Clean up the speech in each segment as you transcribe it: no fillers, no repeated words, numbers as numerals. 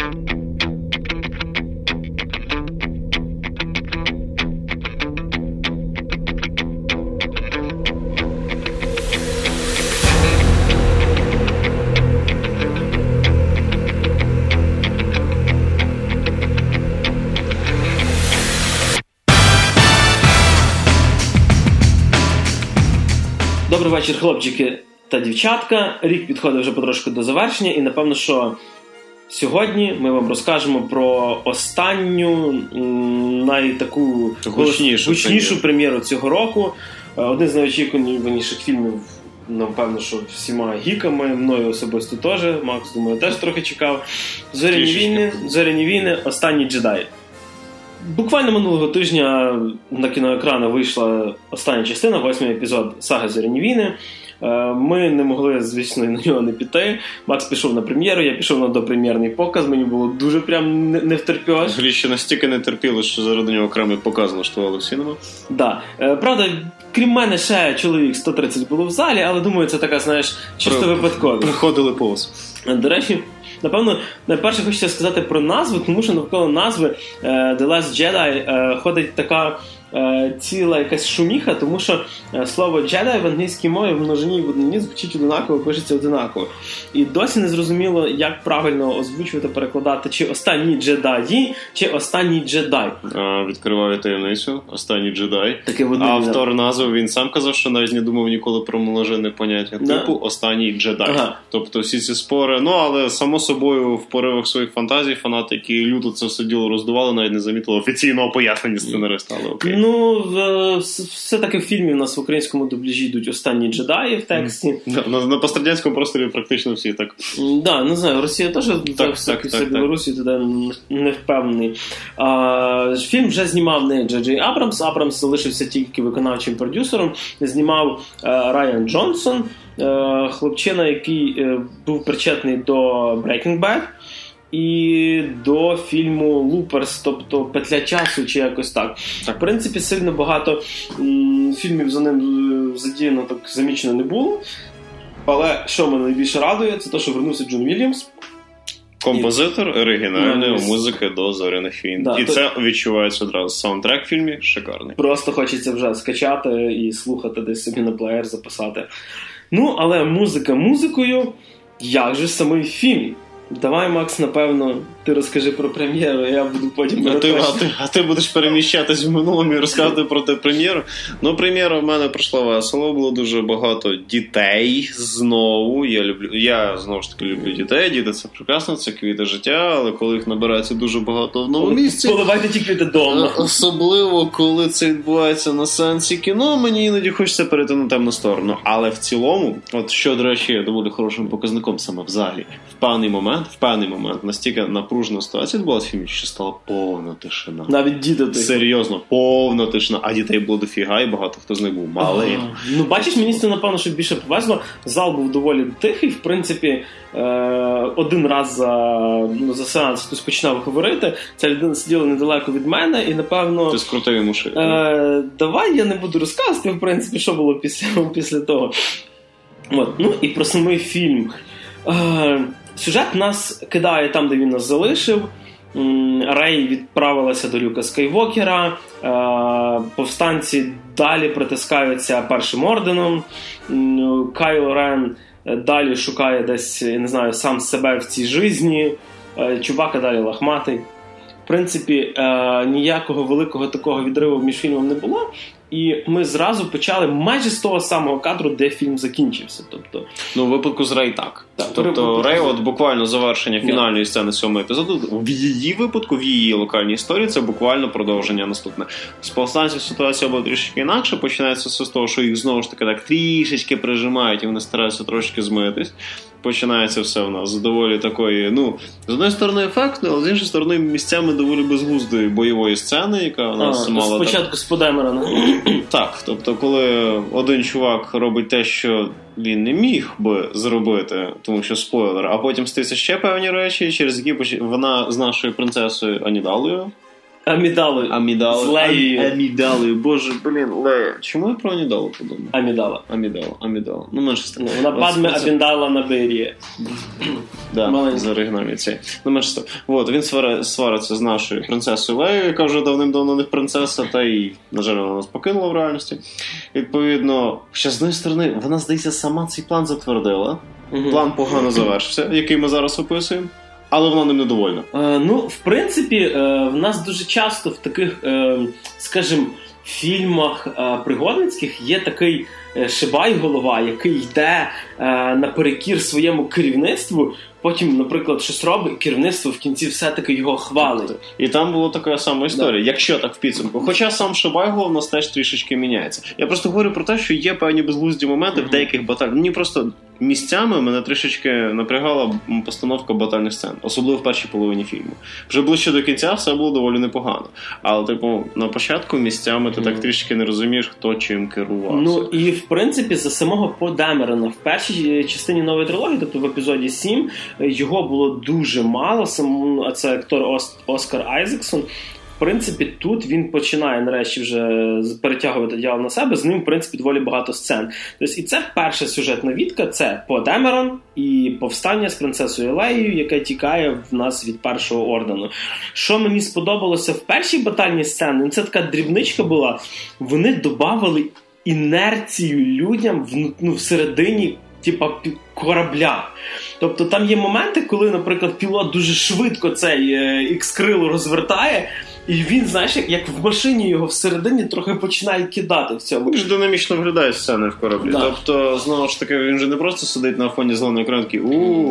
Добрий вечір, хлопчики та дівчатка. Рік підходить вже потрошку до завершення, і напевно, що сьогодні ми вам розкажемо про останню, найтаку гучнішу прем'єру цього року. Один з найочікуваніших фільмів, напевно, що всіма гіками, мною особисто теж, Макс, думаю, теж трохи чекав. Зоряні війни. Останній джедай. Буквально минулого тижня на кіноекрани вийшла остання частина, 8-й епізод саги «Зоряні війни». Ми не могли, звісно, на нього не піти. Макс пішов на прем'єру, я пішов на допрем'єрний показ, мені було дуже прям не втерпілось. Грі ще настільки не терпіло, що заради нього окремий показ влаштували в Сінема. Да. Правда, крім мене, ще чоловік 130 було в залі, але думаю, це така, знаєш, чисто випадково. Приходили повз. До речі, напевно, найперше хочеться сказати про назву, тому що навколо назви The Last Jedi ходить така ціла якась шуміха, тому що слово «джедай» в англійській мові в множині і в однині звучить одинаково, пишеться одинаково. І досі не зрозуміло, як правильно озвучувати, перекладати, чи «останні джедаї», чи «останній джедай». Відкриваю таємницю, «останній джедай». Автор назви, він сам казав, що навіть не думав ніколи про множинне поняття. Типу «останній джедай». Ага. Тобто всі ці спори, але само собою в поривах своїх фантазій фанати, які люто це все діло роздували, навіть не замітили офіційного пояснення сценариста, але окей. Ну, все-таки в фільмі в нас в українському дубляжі йдуть «Останні джедаї» в тексті. На пострадянському просторі практично всі так. Да, не знаю, Росія теж, так, Білорусі туди не впевнений. Фільм вже знімав не Джей Абрамс, Абрамс залишився тільки виконавчим продюсером, знімав Райан Джонсон, хлопчина, який був причетний до Breaking Bad і до фільму «Луперс», тобто «Петля часу» чи якось так. В принципі, сильно багато фільмів за ним задіяно, так замічено не було. Але що мене найбільше радує, це те, що вернувся Джон Вільямс. Композитор оригінальної музики до «Зоряних війн». Да, і це відчувається одразу. Саундтрек в фільмі шикарний. Просто хочеться вже скачати і слухати, десь собі на плеєр записати. Ну, але музика музикою, як же самий фільм? Давай, Макс, напевно, ти розкажи про прем'єру, я буду потім... А ти будеш переміщатись в минулому і розказати про те прем'єру. Ну, прем'єра в мене пройшла весело, було дуже багато дітей знову. Я знову ж таки люблю дітей, діти це прекрасно, це квіти життя, але коли їх набирається дуже багато в новому місці... Поливайте ті квіти дома. Особливо, коли це відбувається на сеансі кіно, мені іноді хочеться перейти на темну сторону. Але в цілому, от що, до речі, є доволі хорошим показником саме в залі, в певний момент настільки напружена ситуація відбулася в фільмі, що стала повна тишина. Навіть діти. Серйозно, повна тишина. А дітей було дофіга, і багато хто з них був малий. Ну, бачиш, мені це, напевно, що більше повезло. Зал був доволі тихий. В принципі, один раз за сеанс хтось починав говорити. Ця людина сиділа недалеко від мене, і, напевно... Ти скрутив йому шию. Давай я не буду розказувати, в принципі, що було після того. От. Ну, і про самий фільм. Сюжет нас кидає там, де він нас залишив. Рей відправилася до Люка Скайвокера. Повстанці далі притискаються Першим орденом. Кайло Рен далі шукає десь, я не знаю, сам себе в цій житті. Чубака далі лахматий. В принципі, ніякого великого такого відриву між фільмом не було. І ми зразу почали майже з того самого кадру, де фільм закінчився. Тобто, ну, в випадку з Рей так. Тобто Рей, от буквально завершення фінальної сцени 7-го епізоду, в її випадку, в її локальній історії, це буквально продовження наступне. З повстанців ситуація була трішки інакше, починається все з того, що їх знову ж таки так трішечки прижимають, і вони стараються трошки змитись. Починається все в нас з доволі такої, ну, з однієї сторони ефектної, але з іншої сторони місцями доволі безглуздої бойової сцени, яка у нас мала... Спочатку з Подемерона. Так, тобто коли один чувак робить те, що він не міг би зробити, тому що спойлер, а потім стаються ще певні речі, через які вона з нашою принцесою Анідалою Амідалою. З Леєю. Амідалою. Боже, блін, Лея. Чому я про Амідалу подумав? Амідала. Ну, менше з тим. Вона Падме Амідала на Берії. Да, з оригінальний цей. Ну, менше з тим. Вот, він свариться з нашою принцесою Леєю, яка вже давним-давно не принцеса, та й, на жаль, вона нас покинула в реальності. Відповідно, ще з однієї сторони, вона, здається, сама цей план затвердила. План погано завершився, який ми зараз описуємо. Але вона ним недовольна. В принципі, в нас дуже часто в таких, скажімо, фільмах пригодницьких є такий шибай-голова, який йде наперекір своєму керівництву, потім, наприклад, щось робить, і керівництво в кінці все-таки його хвалить. І там була така сама історія, якщо так в підсумку. Хоча сам шибай-голов у нас теж трішечки міняється. Я просто говорю про те, що є певні безглузді моменти в деяких баталіях. Мені просто місцями мене трішечки напрягала постановка батальних сцен, особливо в першій половині фільму. Вже ближче до кінця все було доволі непогано. Але, на початку місцями ти так трішки не розумієш, хто чим керувався. І, в принципі, за самого По Демерона в першій частині нової трилогії, тобто в епізоді 7, його було дуже мало, а це актор Оскар Айзексон. В принципі, тут він починає нарешті вже перетягувати діяло на себе, з ним, в принципі, доволі багато сцен. Тобто, і це перша сюжетна відка, це По Демерон і повстання з принцесою Леєю, яке тікає в нас від Першого ордену. Що мені сподобалося в першій батальній сцені, це така дрібничка була, вони додавали інерцію людям всередині корабля. Тобто там є моменти, коли, наприклад, пілот дуже швидко цей ікс-крило розвертає, і він, знаєш, як в машині його всередині трохи починає кидати в цьому. Дуже динамічно виглядає сцени в кораблі. Да. Тобто, знову ж таки, він же не просто сидить на фоні зеленого екрану, такий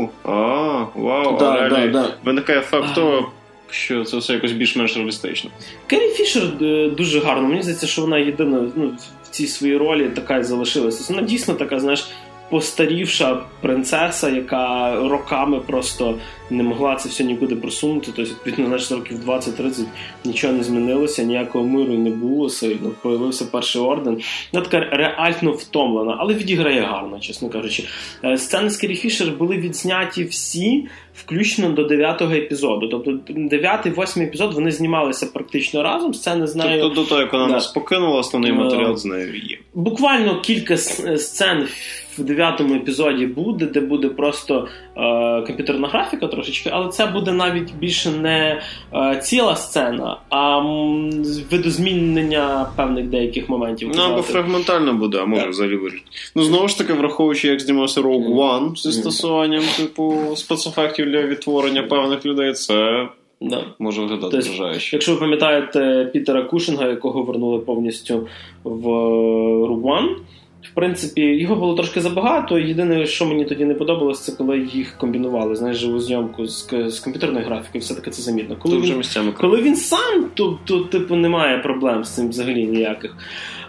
вау, виникає факт того, що це все якось більш-менш реалістично. Керрі Фішер дуже гарно. Мені здається, що вона єдина в цій своїй ролі така і залишилася. Вона дійсно така, знаєш, постарівша принцеса, яка роками просто не могла це все нікуди просунути. Тобто, відповідно, значить, років 20-30 нічого не змінилося, ніякого миру не було, появився Перший орден. Вона така реально втомлена, але відіграє гарно, чесно кажучи. Сцени з Керрі Фішер були відзняті всі, включно до 9-го епізоду. Тобто 9-8 епізод вони знімалися практично разом, сцени з нею. Тобто до того, як вона нас покинула, основний матеріал з нею є. Буквально кілька сцен в 9-му епізоді буде, де буде просто комп'ютерна графіка трошечки, але це буде навіть більше не ціла сцена, а видозмінення певних деяких моментів. Або фрагментально буде, а може взагалі вирішити. Знову ж таки, враховуючи, як знімався Rogue One зі стосуванням спецефектів для відтворення певних людей, це може виглядати вражаюче. Якщо ви пам'ятаєте Пітера Кушинга, якого вернули повністю в Rogue One, в принципі, його було трошки забагато. Єдине, що мені тоді не подобалось, це коли їх комбінували, знаєш, живу зйомку з комп'ютерною графікою, все-таки це замітно. Коли він сам, то типу, немає проблем з цим взагалі ніяких.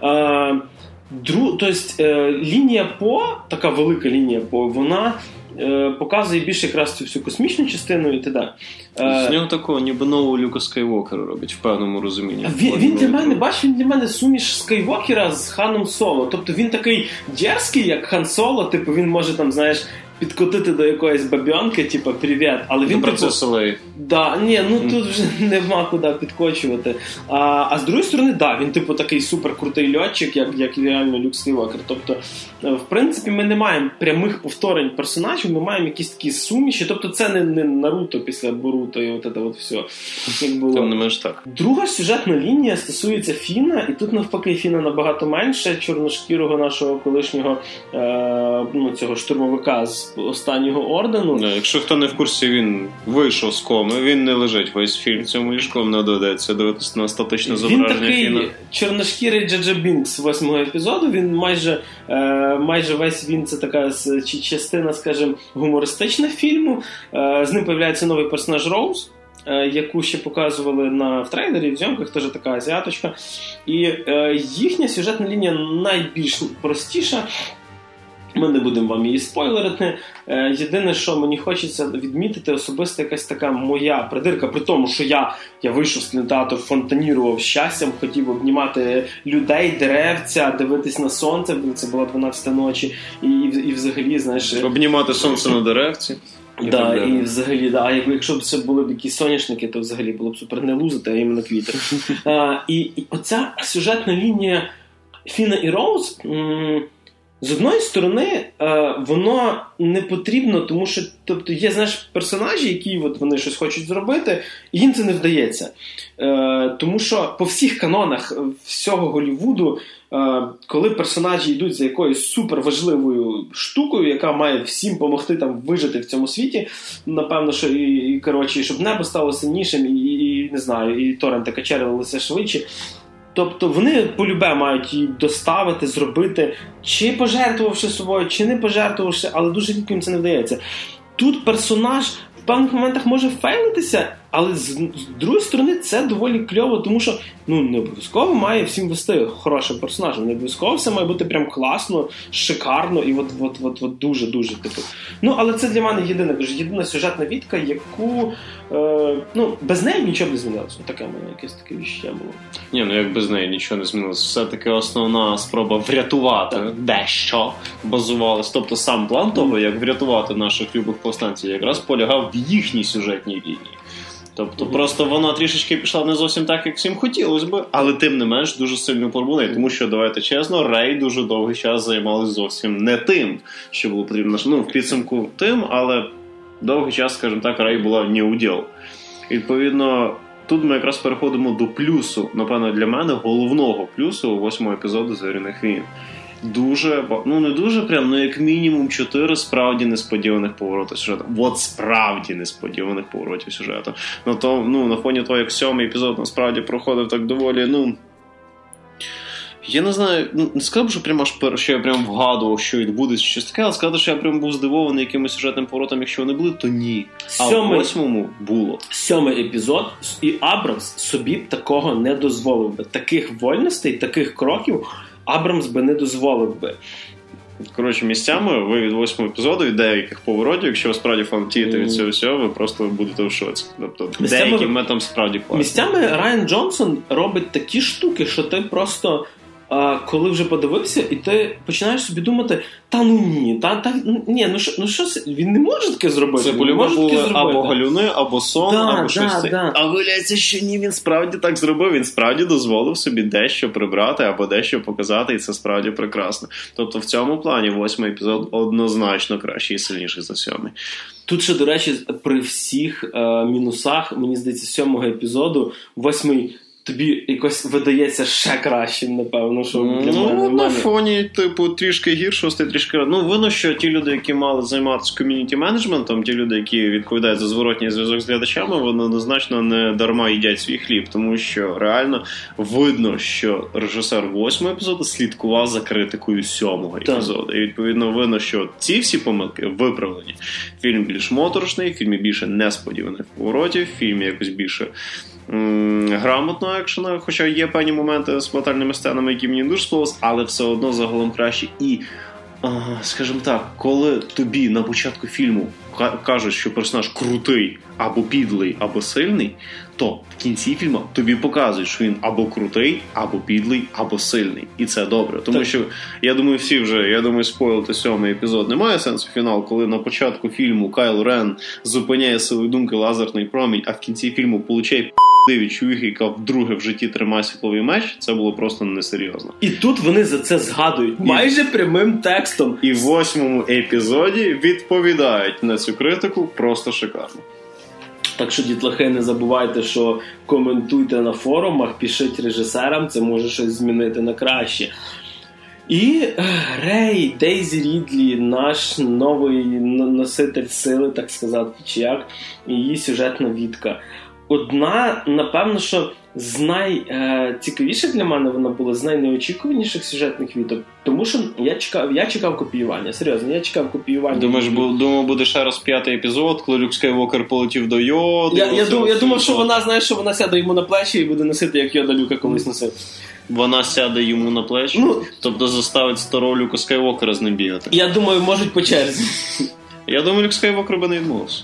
Тобто, лінія По, така велика лінія По, вона показує більше якраз цю всю космічну частину і т.д. З нього такого ніби нового Люка Скайуокера робить, в певному розумінні. Він для мене суміш Скайуокера з Ханом Соло. Тобто він такий дерзкий, як Хан Соло, типу він може там, знаєш, підкотити до якоїсь бабьонки, типу, привіт. Але він процесу Леї. Тут вже нема куди підкочувати. А з другої сторони, він типу такий суперкрутий льотчик, як реально Люк Скайуокер. Тобто, в принципі, ми не маємо прямих повторень персонажів, ми маємо якісь такі суміші. Тобто це не Наруто після Боруто і от все. Як було. Там не менш так. Друга сюжетна лінія стосується Фіна, і тут навпаки Фіна набагато менше, чорношкірого нашого колишнього цього штурмовика з Останнього ордену. Якщо хто не в курсі, він вийшов з коми, він не лежить весь фільм в цьому ліжку, не доведеться дивитися на статичне зображення Фіна. Він такий чорношкірий Джаджа Бінкс 8-го епізоду, він майже весь він це така частина, скажімо, гумористична фільму. З ним появляється новий персонаж Роуз, яку ще показували в трейлері, в зйомках, теж така азіаточка. І їхня сюжетна лінія найбільш простіша. Ми не будемо вам її спойлерити. Єдине, що мені хочеться відмітити, особисто якась така моя придирка, при тому, що я вийшов з кінотеатру, фонтанірував щастям, хотів обнімати людей, деревця, дивитись на сонце, це була 12 ночі, і взагалі, знаєш... Обнімати сонце на деревці. Да, і взагалі, да, якщо б це були б якісь соняшники, то взагалі було б супер не лузити, а іменно квіти. І оця сюжетна лінія Фіна і Роуз, з одної сторони, воно не потрібно, тому що, тобто, є, знаєш, персонажі, які от вони щось хочуть зробити, і їм це не вдається. Тому що по всіх канонах всього Голлівуду, коли персонажі йдуть за якоюсь суперважливою штукою, яка має всім допомогти там вижити в цьому світі, напевно, що і коротше, щоб небо стало сильнішим, і не знаю, і торренти качерилися швидше. Тобто вони полюбе мають її доставити, зробити, чи пожертвувавши собою, чи не пожертвувавши, але дуже рідко їм це не вдається. Тут персонаж в певних моментах може фейлитися, але з другої сторони це доволі кльово, тому що не обов'язково має всім вести хорошим персонажем, не обов'язково все має бути прям класно, шикарно і от дуже-дуже типу. Але це для мене єдина сюжетна вітка, яку без неї нічого не змінилося. Таке в мене якесь таке відчуття було. Ні, як без неї нічого не змінилося. Все-таки основна спроба врятувати дещо базувалась. Тобто сам план того, як врятувати наших любих повстанців, якраз полягав в їхній сюжетній лінії. Тобто просто вона трішечки пішла не зовсім так, як всім хотілося би, але тим не менш дуже сильно порвуне. Тому що, давайте чесно, Рей дуже довгий час займалась зовсім не тим, що було потрібно. В підсумку тим, але довгий час, скажімо так, Рей була не уділ. Відповідно, тут ми якраз переходимо до плюсу, напевно, для мене, головного плюсу 8-го епізоду «Зоряних війн». Дуже, не дуже прям, як мінімум 4 справді несподіваних поворотів сюжету. Справді несподіваних поворотів сюжету. На фоні того, як 7-й епізод насправді проходив так доволі, я не знаю, не сказав, що я прям вгадував, що відбудеться щось таке, але сказати, що я прям був здивований якимось сюжетним поворотом, якщо вони були, то ні. А в 8-му було. 7-й епізод, і Абрамс собі б такого не дозволив би. Таких вольностей, таких кроків Абрамс би не дозволив би. Коротше, місцями ви від 8-го епізоду, від деяких поворотів, якщо ви справді фанатієте від цього всього, ви просто будете в шоці. Тобто, деякі метам справді класні. Місцями Райан Джонсон робить такі штуки, що ти просто, коли вже подивився, і ти починаєш собі думати, що він не може таке зробити. Це по-любому були або галюни, або сон, або щось. А виявляється, що ні, він справді так зробив, він справді дозволив собі дещо прибрати, або дещо показати, і це справді прекрасно. Тобто в цьому плані 8-й епізод однозначно кращий і сильніший за 7-й. Тут ще, до речі, при всіх мінусах, мені здається, 7-го епізоду 8-й тобі якось видається ще кращим, напевно, що для мене. На фоні, трішки гіршого, трішки... видно, що ті люди, які мали займатися ком'юніті-менеджментом, ті люди, які відповідають за зворотній зв'язок з глядачами, вони однозначно не дарма їдять свій хліб, тому що реально видно, що режисер 8-го епізоду слідкував за критикою 7-го епізоду. І, відповідно, видно, що ці всі помилки виправлені. Фільм більш моторошний, в фільмі більше несподіваних поворотів, в фільмі якось більше грамотно екшена, хоча є певні моменти з фатальними сценами, які мені дуже сподобалися, але все одно загалом краще. І, скажімо так, коли тобі на початку фільму кажуть, що персонаж крутий, або підлий, або сильний, то в кінці фільму тобі показують, що він або крутий, або підлий, або сильний. І це добре. Тому що, я думаю, спойлити 7-й епізод немає сенсу фінал, коли на початку фільму Кайло Рен зупиняє силою думки лазерний промінь, а в кінці фільму получає від чувіхи, яка вдруге в житті тримає світловий меч, це було просто несерйозно. І тут вони за це згадують майже прямим текстом. І в 8-му епізоді відповідають на цю критику просто шикарно. Так що, дітлахи, не забувайте, що коментуйте на форумах, пишіть режисерам, це може щось змінити на краще. І Рей, Дейзі Рідлі, наш новий носитель сили, так сказати, чи як, і її сюжетна вітка. Одна, напевно, що з найцікавіших для мене вона була, з найнеочікуваніших сюжетних віток. Тому що я чекав копіювання. Серйозно, я чекав копіювання. Думав, буде ще раз 5-й епізод, коли Люк Скайуокер полетів до Йоди. Я думав, що вона сяде йому на плечі і буде носити, як Йода Люка колись носив. Вона сяде йому на плечі? Тобто заставить старого Люка Скайуокера з ним бігати? Я думаю, можуть по черзі. Я думаю, Люк Скайуокер би не відмовився.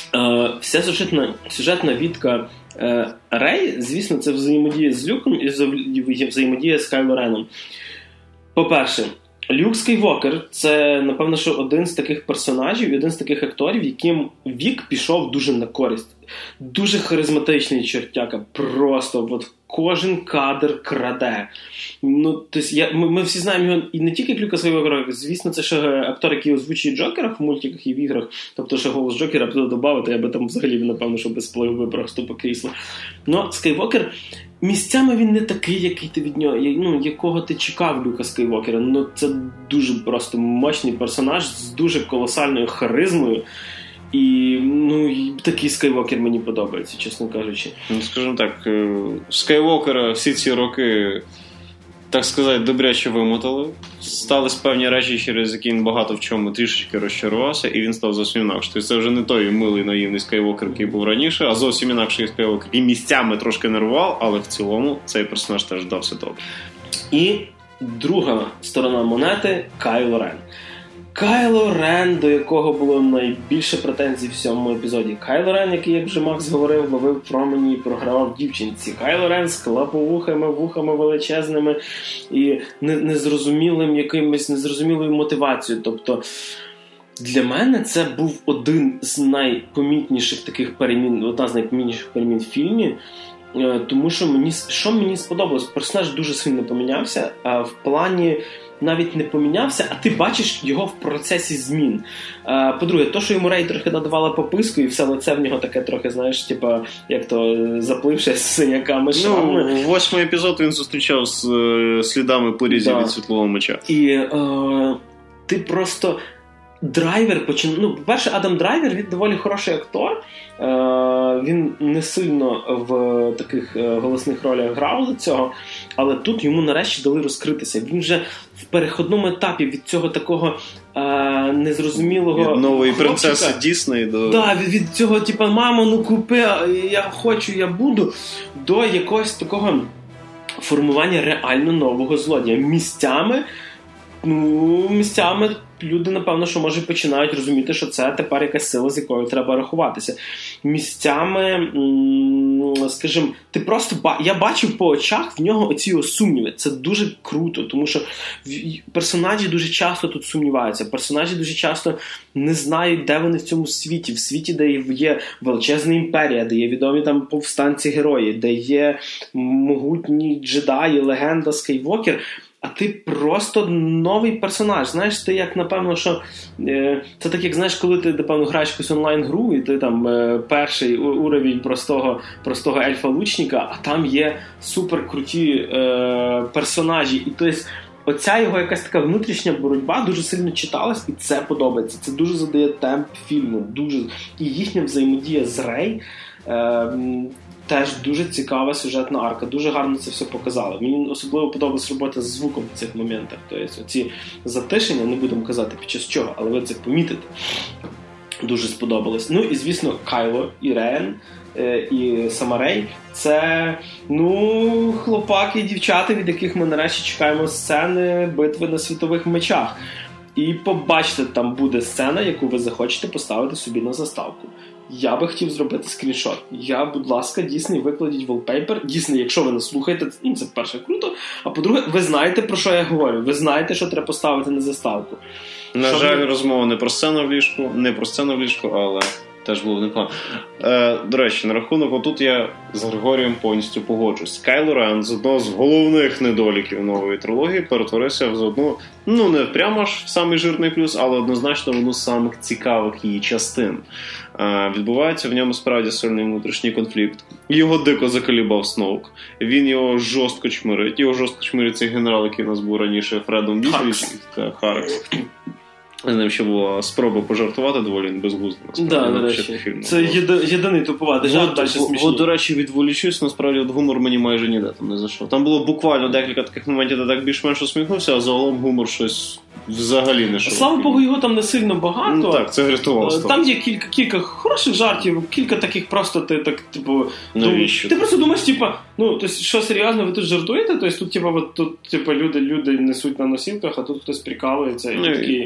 Вся сюжетна вітка Рей, звісно, це взаємодія з Люком і взаємодія з Кайло Реном. По-перше, Люк Скайуокер – це, напевно, що один з таких персонажів, один з таких акторів, яким вік пішов дуже на користь. Дуже харизматичний чертяка, просто от кожен кадр краде. Ну, ми всі знаємо його і не тільки як Люка Скайуокера, звісно, це ще актор, який озвучує Джокера в мультиках і в іграх, тобто ще голос Джокера туди додати, я би там взагалі, напевно, що без впливу просто по кріслу. Но Скайуокер, місцями він не такий, який ти від нього, ну, якого ти чекав Люка Скайуокера. Ну, це дуже просто мощний персонаж з дуже колосальною харизмою. І, ну, такий Скайуокер мені подобається, чесно кажучи. Ну, скажімо так, Скайуокера всі ці роки, так сказати, добряче вимотали. Стались певні речі, через які він багато в чому трішечки розчарувався, і він став зовсім інакше. Тобто це вже не той милий наївний Скайуокер, який був раніше, а зовсім інакший Скайуокер. І місцями трошки нервував, але в цілому цей персонаж теж дався добре. І друга сторона монети – Кайло Рен. Кайло Рен, до якого було найбільше претензій в цьому епізоді. Кайло Рен, який, як вже Макс говорив, ловив промені і програвав дівчинці. Кайло Рен з клаповухами величезними і незрозумілою мотивацією. Тобто, для мене це був один з найпомітніших таких перемін, одна з найпомітніших перемін в фільмі. Тому що мені сподобалось, персонаж дуже сильно помінявся, а в плані навіть не помінявся, а ти бачиш його в процесі змін. По-друге, то, що йому Рей трохи надавала пописку, і все лице в нього таке трохи, знаєш, типа, як то запливше з синяками, шрамами. Ну, 8-й епізод він зустрічав з слідами порізів від світлового меча. І ти просто... Драйвер по-перше, Адам Драйвер, він доволі хороший актор. Він не сильно в таких голосних ролях грав до цього, але тут йому нарешті дали розкритися. Він вже в переходному етапі від цього такого незрозумілого від нової хлопчика, принцеси Дісней до... Да, від цього, типа, мамо, ну купи, я хочу, я буду, до якогось такого формування реально нового злодія. Місцями люди, напевно, що, може, починають розуміти, що це тепер якась сила, з якою треба рахуватися. Місцями, скажімо, я бачив по очах в нього оці сумніви. Це дуже круто, тому що персонажі дуже часто тут сумніваються. Персонажі дуже часто не знають, де вони в цьому світі. В світі, де є величезна імперія, де є відомі там повстанці-герої, де є могутні джедаї, легенда Скайуокер. А ти просто новий персонаж. Знаєш, ти як, напевно, що... Це так, як, знаєш, коли ти, напевно, граєш якусь онлайн-гру, і ти там перший уровень простого ельфа-лучника, а там є суперкруті персонажі. І тобто оця його якась така внутрішня боротьба дуже сильно читалась, і це подобається. Це дуже задає темп фільму. Дуже. І їхня взаємодія з Рей... теж дуже цікава сюжетна арка. Дуже гарно це все показали. Мені особливо подобалась робота з звуком в цих моментах. Тобто оці затишення, не будемо казати під час чого, але ви це помітите. Дуже сподобалось. Ну і, звісно, Кайло і Рен, і сама Рей – це, хлопаки і дівчата, від яких ми нарешті чекаємо сцени битви на світових мечах. І побачите, там буде сцена, яку ви захочете поставити собі на заставку. Я би хотів зробити скріншот. Будь ласка, Disney, викладіть wallpaper. Disney, якщо ви не слухаєте, це перше круто. А по-друге, ви знаєте, про що я говорю. Ви знаєте, що треба поставити на заставку. На жаль, розмова не про сцену в ліжку, але теж було непогано. До речі, на рахунок, отут я з Григорієм повністю погоджусь. Кайло Рен з одного з головних недоліків нової трилогії перетворився в одну, не прямо ж в самий жирний плюс, але однозначно в одну з самих цікавих її частин. Відбувається в ньому справді сильний внутрішній конфлікт. Його дико заколібав Сноук. Він його жорстко чмирить. Його жорстко чмирить цей генерал, який у нас був раніше, Фредом Дізней. Харекс. З ним ще була спроба пожартувати доволі безглуздо. До речі. Це єдиний тупуватий жарт, далі смішні. До речі, відволічусь, насправді гумор мені майже ніде там не зайшов. Там було буквально декілька таких моментів, де так більш-менш усміхнувся, а загалом гумор щось взагалі не шов. Слава Богу, його там не сильно багато. Так, це врятувало. Там є кілька хороших жартів, кілька таких просто ти так, навіщо? Ти просто думаєш, тобто, що серйозно, ви тут жартуєте? Тобто тут, люди несуть на носілках, а тут хтось прикалується і такий...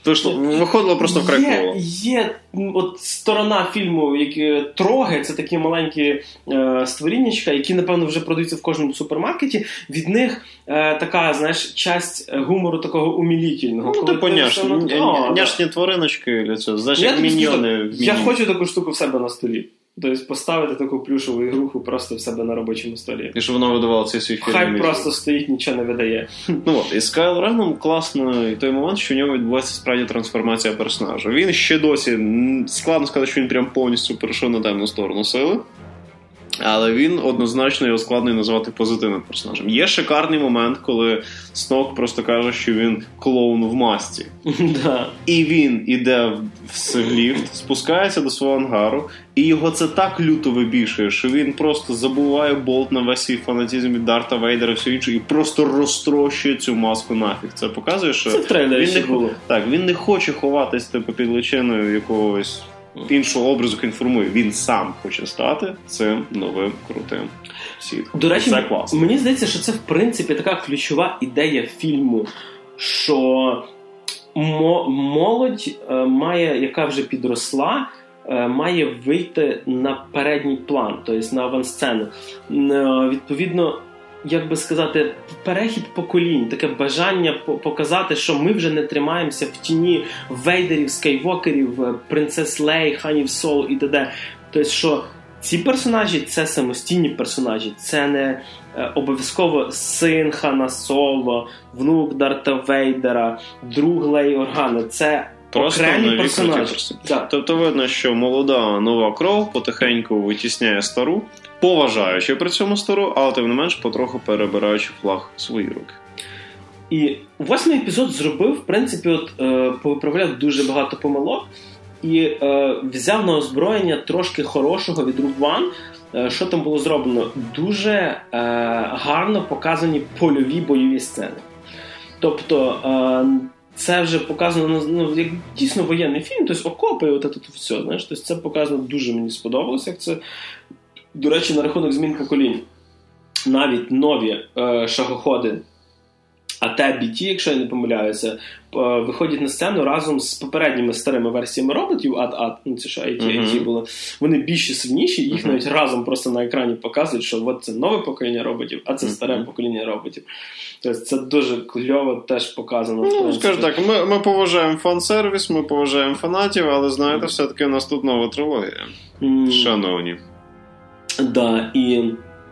Виходило просто вкрай коло. Є от сторона фільму, які троги, це такі маленькі створіннячка, які, напевно, вже продаються в кожному супермаркеті. Від них така, знаєш, часть гумору такого умілітельного. Ну, типу няшні твариночки, знаєш, як міньйони. Я хочу таку штуку в себе на столі. Тобто поставити таку плюшеву ігруху просто в себе на робочому столі. І щоб воно видавало цей свій фільм. Хай просто стоїть, нічого не видає. І з Кайло Реном класний той момент, що в ньому відбувається справді трансформація персонажа. Він ще досі, складно сказати, що він прям повністю перейшов на темну сторону сили. Але він однозначно його складно назвати позитивним персонажем. Є шикарний момент, коли Снок просто каже, що він клоун в масці. Да. І він іде в ліфт, спускається до свого ангару, і його це так люто вибішує, що він просто забуває болт на весь свій фанатизм від Дарта Вейдера і все інше, і просто розтрощує цю маску нафіг. Це показує, що він не хоче ховатись під личиною якогось іншого образу, який інформує. Він сам хоче стати цим новим крутим сітком. До речі, мені здається, що це в принципі така ключова ідея фільму, що молодь має, яка вже підросла, має вийти на передній план, тобто на авансцену. Відповідно, як би сказати, перехід поколінь, таке бажання показати, що ми вже не тримаємося в тіні Вейдерів, Скайвокерів, принцес Лей, Ханів Соло і т.д. Тобто, що ці персонажі – це самостійні персонажі, це не обов'язково син Хана Соло, внук Дарта Вейдера, друг Лей Органа, це просто окремі персонажі. Тобто видно, що молода нова кров потихеньку витісняє стару, поважаючи при цьому стару, але тим не менш потроху перебираючи флаг в свої руки. І 8-й епізод зробив, в принципі, повиправляв дуже багато помилок і взяв на озброєння трошки хорошого від Rogue One. Що там було зроблено? Дуже гарно показані польові бойові сцени. Тобто це вже показано, як дійсно воєнний фільм, тобто окопи, і тут все, знаєш, тобто це показано дуже мені сподобалося, як це. До речі, на рахунок змін поколінь. Навіть нові шагоходи АТ-BT, якщо я не помиляюся, виходять на сцену разом з попередніми старими версіями роботів, це що IT було, вони більш сильніші, їх навіть разом просто на екрані показують, що от це нове покоління роботів, а це старе покоління роботів. Тобто це дуже кльово теж показано. Скажу так, ми поважаємо фан-сервіс, ми поважаємо фанатів, але знаєте, все-таки у нас тут нова трилогія. Шановні. Да, і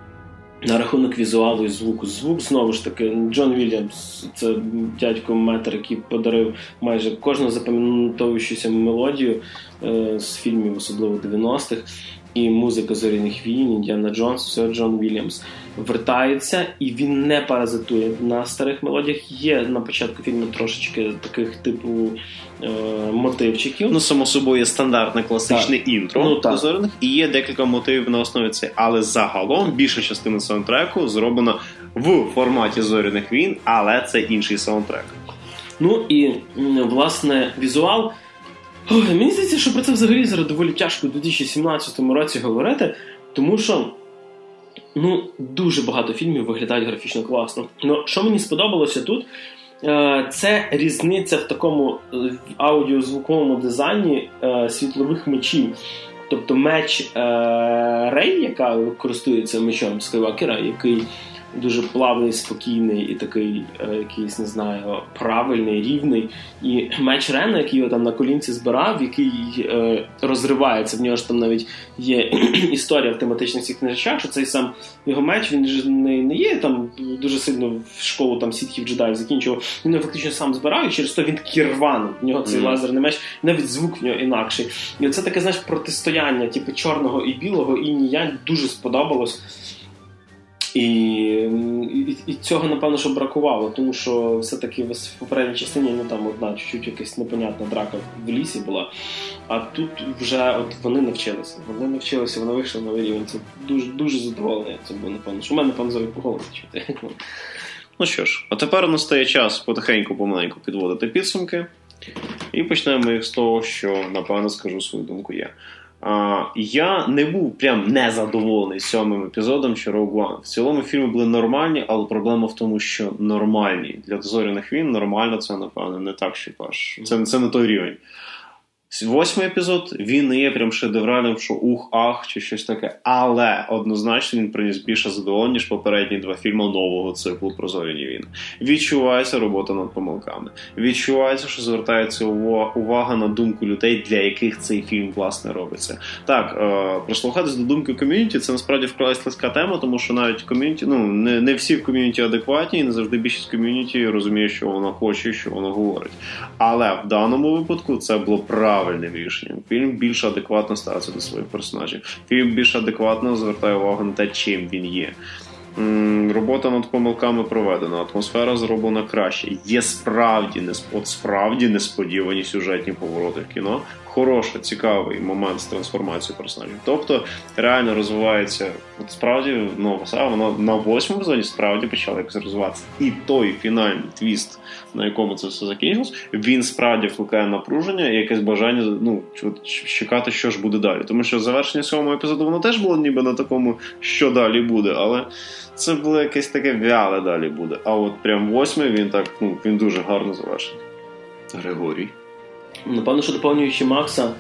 на рахунок візуалу і звуку. Звук, знову ж таки, Джон Вільямс, це дядько метр, який подарив майже кожну запам'ятовуючуся мелодію з фільмів, особливо 90-х. І музика «Зоряних війн», «Індіана Джонс», все Джон Вільямс вертається, і він не паразитує на старих мелодіях. Є на початку фільму трошечки таких типу мотивчиків. Само собою є стандартне класичне інтро до «Зоряних», і є декілька мотивів на основі цього. Але загалом більша частина саундтреку зроблена в форматі «Зоряних війн», але це інший саундтрек. І, власне, візуал. Мені здається, що про це взагалі зараз доволі тяжко у 2017 році говорити, тому що дуже багато фільмів виглядають графічно класно. Що мені сподобалося тут, це різниця в такому аудіозвуковому дизайні світлових мечів. Тобто меч Рей, яка користується мечом Скайвокера, який дуже плавний, спокійний і такий якийсь, не знаю, правильний, рівний. І меч Рена, який його там на колінці збирав, який розривається. В нього ж там навіть є історія в тематичних цих книжечах, що цей сам його меч, він ж не є там дуже сильно в школу там сітхів джедаїв закінчував. Він його фактично сам збирав, і через то він такий рваний. В нього цей лазерний меч, навіть звук в нього інакший. І це таке, знаєш, протистояння, типу чорного і білого, інь-янь, дуже сподобалось. І цього, напевно, що бракувало, тому що все-таки в попередній частині там одна чуть-чуть якась непонятна драка в лісі була, а тут вже вони навчилися, вони вийшли на новий рівень. Це дуже, дуже задоволений це було, напевно, що в мене, напевно, зараз по голові чути. Ну що ж, а тепер настає час потихеньку-помаленьку підводити підсумки, і почнемо їх з того, що, напевно, скажу свою думку я. Я не був прям незадоволений 7-м епізодом чи Rogue One. В цілому фільми були нормальні, але проблема в тому, що нормальні. Для «Зоряних війн» нормально це, напевно, не так, що аж. Це не той рівень. 8-й епізод, він не є прям шедевральним, що ух-ах, чи щось таке. Але однозначно він приніс більше задоволення, ніж попередні 2 фільми нового циклу про «Зоряні війни». Відчувається робота над помилками. Відчувається, що звертається увага на думку людей, для яких цей фільм, власне, робиться. Так, прислухатись до думки ком'юніті, це насправді вкрай слизька тема, тому що навіть ком'юніті, не всі в ком'юніті адекватні, і не завжди більшість ком'юніті розуміє, що вона хоче, що вона говорить. Але в даному випадку це було правильним рішенням. Фільм більш адекватно ставиться до своїх персонажів. Фільм більш адекватно звертає увагу на те, чим він є. Робота над помилками проведена, атмосфера зроблена краще. Є справді несподівані сюжетні повороти в кіно. Хороший, цікавий момент з трансформацією персонажів. Тобто, реально розвивається, справді, воно на 8-му епізоді справді почало якось розвиватися. І той фінальний твіст, на якому це все закінчилось, він справді викликає напруження і якесь бажання, чекати, що ж буде далі. Тому що завершення 7-го епізоду, воно теж було ніби на такому, що далі буде, але це було якесь таке вяле далі буде. А от прям 8-й, він дуже гарно завершений. Григорій. Напевно, що доповнюючи Макса,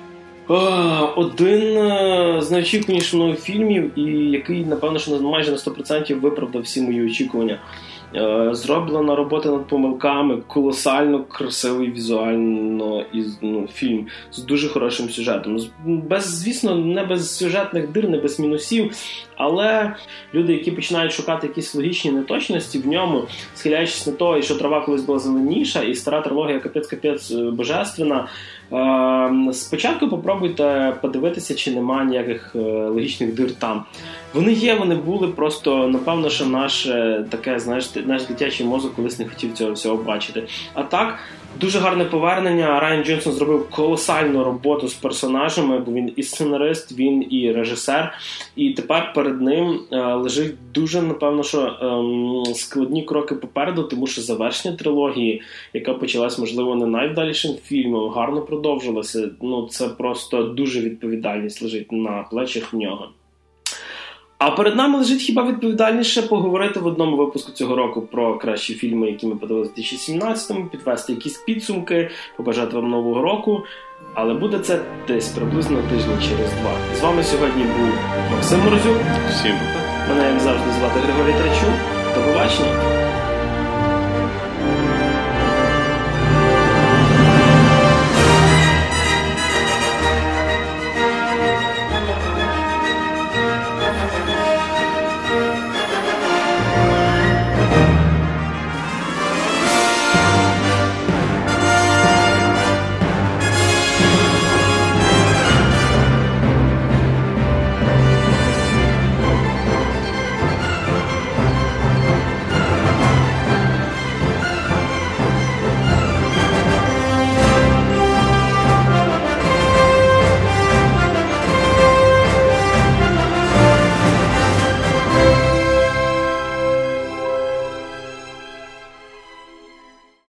один з найочікуваніших мною фільмів, і який, напевно, що майже на 100% виправдав всі мої очікування. Зроблена робота над помилками, колосально красивий візуально фільм з дуже хорошим сюжетом. Звісно, не без сюжетних дир, не без мінусів, але люди, які починають шукати якісь логічні неточності в ньому, схиляючись на те, що трава колись була зеленіша, і стара трилогія капець божественна, спочатку попробуйте подивитися, чи нема ніяких логічних дир там. Вони є, вони були, просто, напевно, що наше таке, наш дитячий мозок колись не хотів цього всього бачити. А так, дуже гарне повернення. Райан Джонсон зробив колосальну роботу з персонажами, бо він і сценарист, він і режисер. І тепер перед ним лежить дуже, напевно, що складні кроки попереду, тому що завершення трилогії, яка почалась, можливо, не найвдалішим фільмом, гарно продовжилася. Це просто дуже відповідальність лежить на плечах в нього. А перед нами лежить хіба відповідальніше поговорити в одному випуску цього року про кращі фільми, які ми подивилися в 2017-му, підвести якісь підсумки, побажати вам нового року. Але буде це десь приблизно тиждень через 2. З вами сьогодні був Максим Морозюк. Всім. Мене, як завжди, звати Григорій Трачук. До побачення.